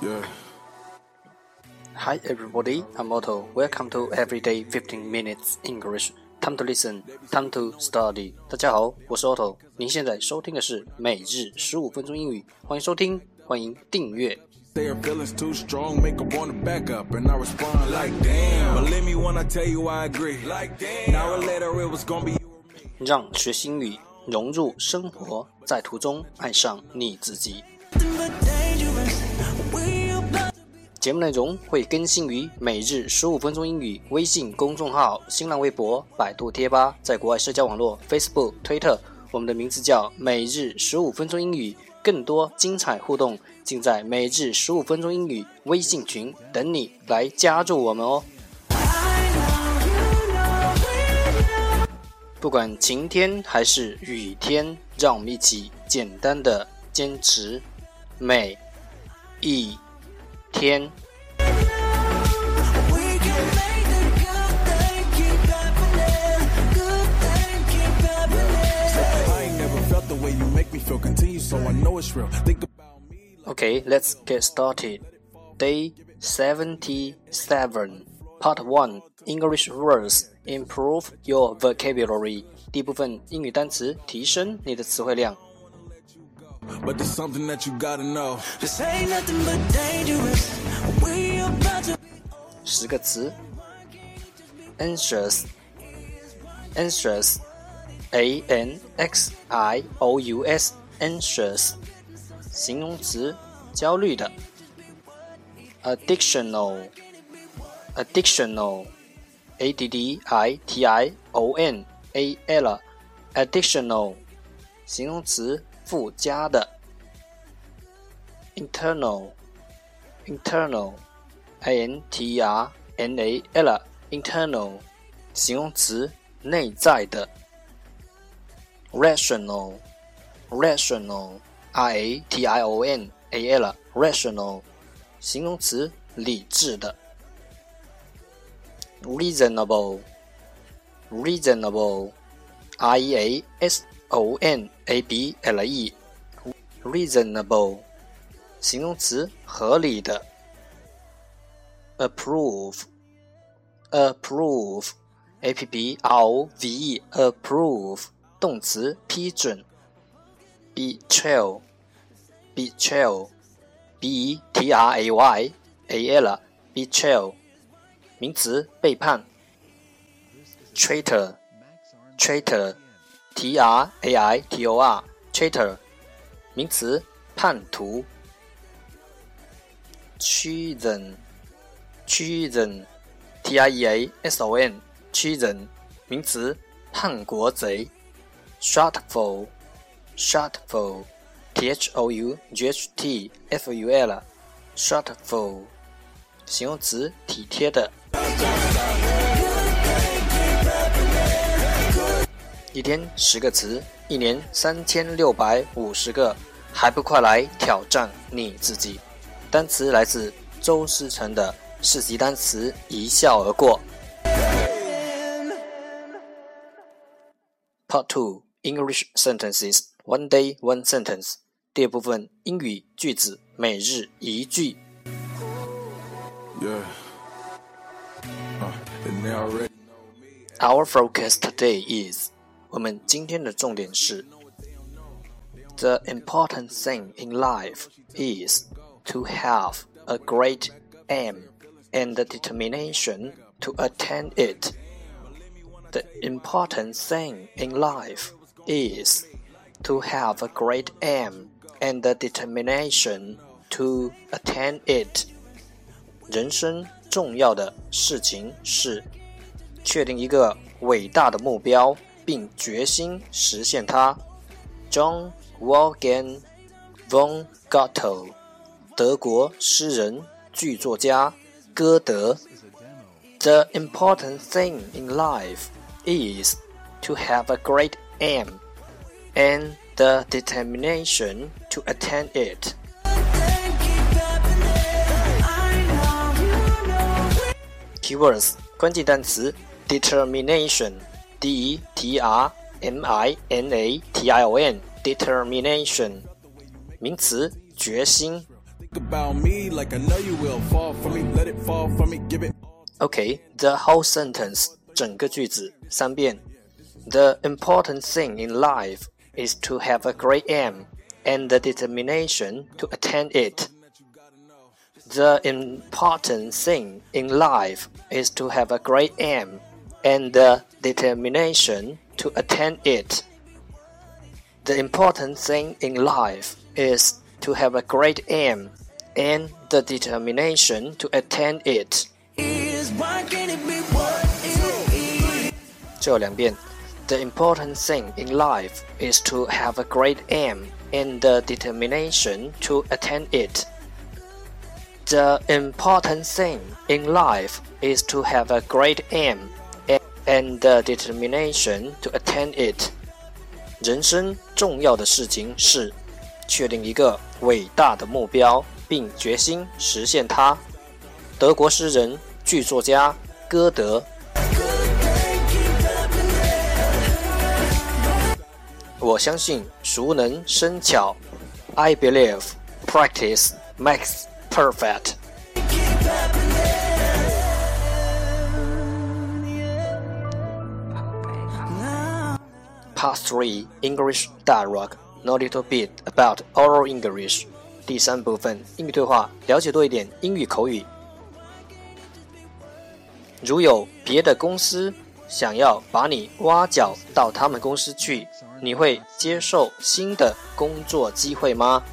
Yeah. Hi everybody, I'm Otto. Welcome to Everyday 15 Minutes English. Time to listen, time to study. 大家好，我是 Otto。您现在收听的是每日15分钟英语，欢迎收听，欢迎订阅。 Their feelings too strong, make her wanna back up, and I respond like damn. Believe me when I tell you I agree. Like damn. Now or later it was gonna be. 让学习英语融入生活，在途中爱上你自己。节目内容会更新于每日15分钟英语微信公众号、新浪微博、百度贴吧，在国外社交网络 Facebook、推特，我们的名字叫每日15分钟英语。更多精彩互动尽在每日15分钟英语微信群，等你来加入我们哦。不管晴天还是雨天，让我们一起简单的坚持每一天。Okay, let's get started. Day 77, Part 1, English words, improve your vocabulary. 第一部分英语单词，提升你的词汇量。 But there's something that you gotta know. 10个词 Anxious, Anxious, A-N-X-I-O-U-S, Anxious, 形容词，焦虑的。Addictional, Addictional, A-D-D-I-T-I-O-N-A-L, Addictional, 形容词，附加的。Internal, Internal, I-N-T-E-R-N-A-L, Internal, 形容词，内在的。Rational, Rational, R-A-T-I-O-N-A-L, Rational, 形容词，理智的。Reasonable, Reasonable, R-E-A-S-O-N-A-B-L-E, Reasonable, 形容词，合理的。Approve, Approve, A-P-P-R-O-V-E, Approve, 动词，批准。Betrayal, Betrayal, B-E-T-R-A-Y-A-L, Betrayal, 名词，背叛。Traitor, Traitor, T-R-A-I-T-O-R, Traitor, 名词，叛徒。Treason, Treason, T-R-E-A-S-O-N, Treason, 名词，叛国贼。Shortfall, Shortfall, T-H-O-U-G-H-T-F-U-L, Shortfall, 形容词，体贴的。一天10个词，一年3650个，还不快来挑战你自己？单词来自周思成的4级单词一笑而过。Part 2, English sentences, one day, one sentence. 第二部分英语句子，每日一句。 Yeah. And they already know me. Our focus today is, 我们今天的重点是 The important thing in life is to have a great aim and the determination to attain it. The important thing in life is to have a great aim and the determination to attain it. 人生重要的事情是确定一个伟大的目标，并决心实现它。John Wolfgang von Goethe, 德国诗人、剧作家歌德。The important thing in life is to have a great aim and the determination to attain it. Keywords 关键单词 Determination, D-E-T-R-M-I-N-A-T-I-O-N, Determination 名词决心。 About me like I know you will fall for me, let it fall for me, give it. Okay, the whole sentence, 整个句子3遍。The important thing in life is to have a great aim and the determination to attain it. The important thing in life is to have a great aim and the determination to attain it. The important thing in life is to have a great aim and the determination to attain it. 最后2遍。The important thing in life is to have a great aim and the determination to attain it. The important thing in life is to have a great aim and the determination to attain it. 人生重要的事情是确定一个伟大的目标，并决心实现它。德国诗人、剧作家歌德。我相信熟能生巧。I believe practice makes perfect. Part 3 English Dialogue. Know a little bit about oral English. 第3部分英语对话，了解多一点英语口语。如有别的公司想要把你挖角到他们公司去，你会接受新的工作机会吗？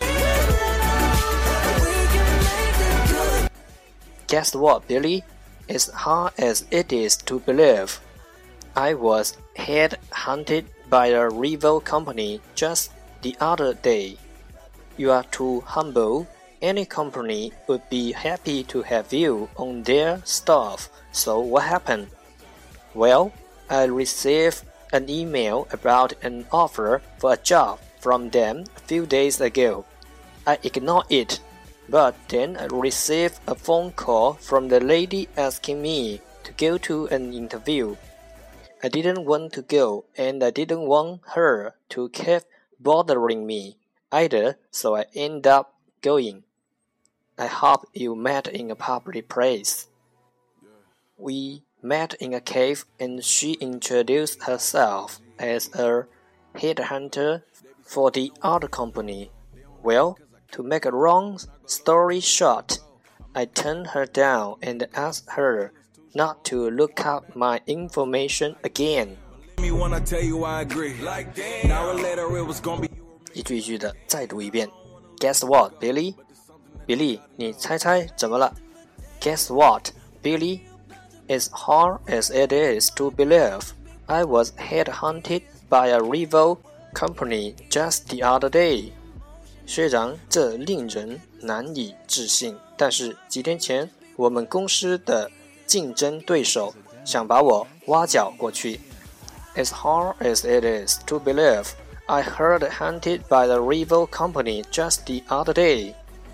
Guess what, Billy? As hard as it is to believe, I was headhunted by a rival company just the other day. You are too humble. Any company would be happy to have you on their staff. So what happened? Well, I received an email about an offer for a job from them a few days ago. I ignored it, but then I received a phone call from the lady asking me to go to an interview. I didn't want to go, and I didn't want her to keep bothering me either, so I ended up going. I hope you met in a public place. We met in a cave, and she introduced herself as a headhunter for the other company. Well, to make a long story short, I turned her down and asked her not to look up my information again. 一句一句的再读一遍。Guess what, Billy? Billy, 你猜猜怎么了？ Guess what, Billy? As hard as it is to believe, I was headhunted by a rival company just the other day. 虽然这令人难以置信，但是几天前，我们公司的竞争对手想把我挖角过去。As hard as it is to believe, I heard hunted by the rival company just the other day.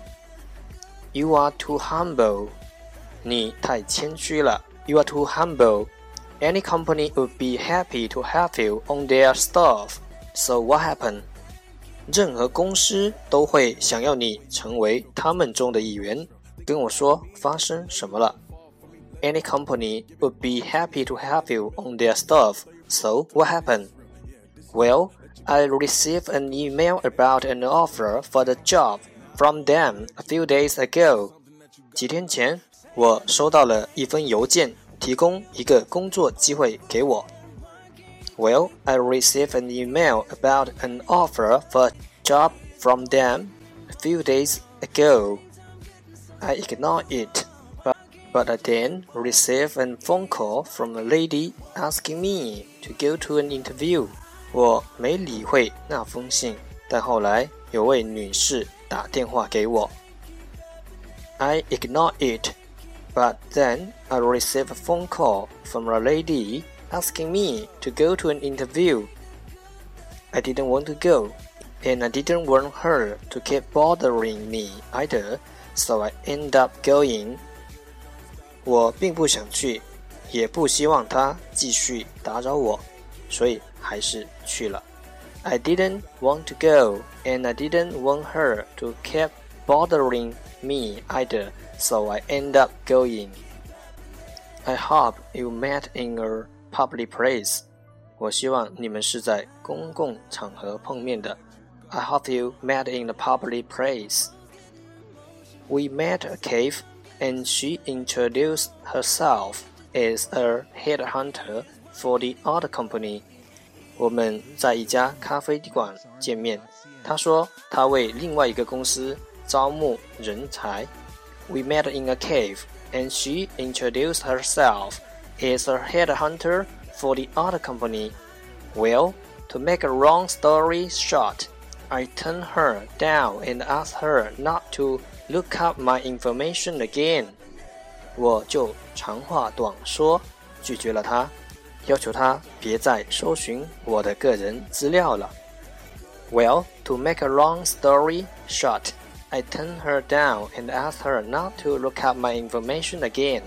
You are too humble. 你太谦虚了。You are too humble. Any company would be happy to have you on their staff. So what happened? 任何公司都会想要你成为他们中的一员。跟我说发生什么了？ Any company would be happy to have you on their staff. So what happened? Well, I received an email about an offer for the job from them a few days ago. 几天前，我收到了一封邮件，提供一个工作机会给我。Well, I received an email about an offer for a job from them a few days ago. I ignored it, but I then received a phone call from a lady asking me to go to an interview. 我没理会那封信，但后来有位女士打电话给我。I ignored it, but then I received a phone call from a lady asking me to go to an interview. I didn't want to go, and I didn't want her to keep bothering me either, so I ended up going. 我并不想去，也不希望她继续打扰我，所以还是去了。I didn't want to go, and I didn't want her to keep bothering me either, so I end up going. I hope you met in a public place. 我希望你们是在公共场合碰面的。I hope you met in a public place. We met at a cave, and she introduced herself as a headhunter for the other company. 我们在一家咖啡馆见面，她说她为另外一个公司招募人才。We met in a cave, and she introduced herself as a headhunter for the other company. Well, to make a long story short, I turned her down and asked her not to look up my information again. 我就长话短说，拒绝了她，要求她别再搜寻我的个人资料了。Well, to make a long story short, I turned her down and asked her not to look up my information again.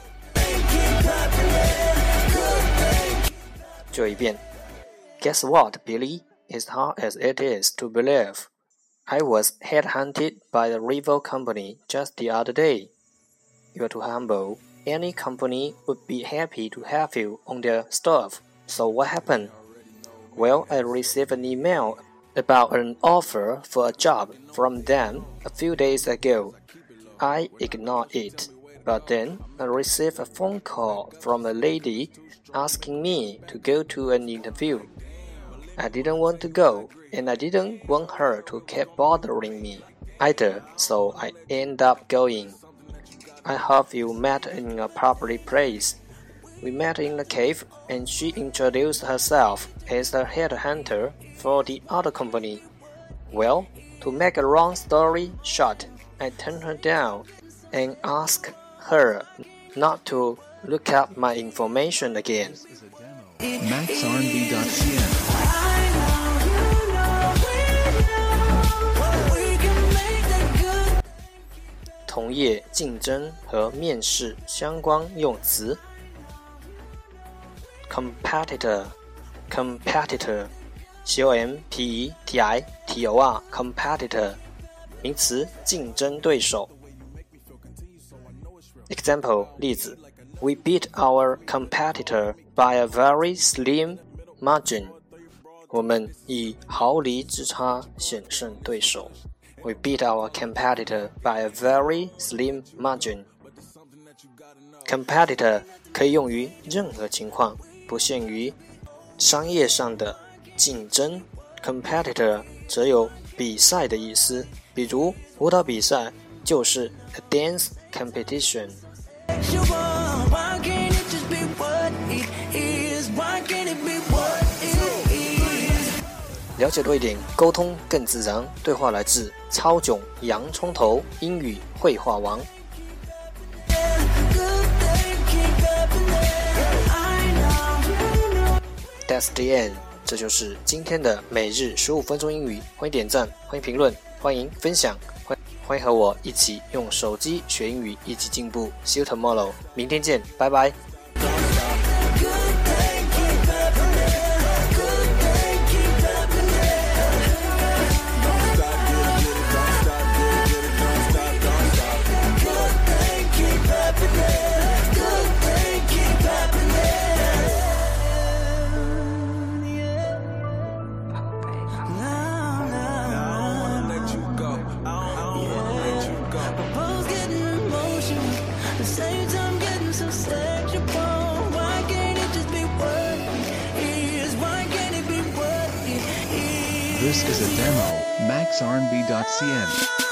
就一遍。Guess what, Billy? As hard as it is to believe, I was headhunted by the rival company just the other day. You're too humble. Any company would be happy to have you on their staff. So what happened? Well, I received an email about an offer for a job from them a few days ago. I ignored it, but then I received a phone call from a lady asking me to go to an interview. I didn't want to go, and I didn't want her to keep bothering me either, so I ended up going. I hope you met in a public place. We met in a cave, and she introduced herself as a headhunter for the other company. Well, to make a long story short, I turned her down and asked her not to look up my information again. MaxRnB.cn 同业竞争和面试相关用词 Competitor Competitor C-O-M-P-E-T-I-T-O-R Competitor 名词竞争对手 Example 例子 We beat our competitor by a very slim margin. 我们以毫厘之差险胜对手。We beat our competitor by a very slim margin. Competitor 可以用于任何情况，不限于商业上的竞争。Competitor 则有比赛的意思，比如舞蹈比赛就是 a dance competition。了解多一点，沟通更自然。对话来自超囧洋葱头英语绘画王。That's the end， 这就是今天的每日15分钟英语。欢迎点赞，欢迎评论，欢迎分享，欢迎和我一起用手机学英语，一起进步。See you tomorrow， 明天见，拜拜。 This is a demo. MaxRnB.cn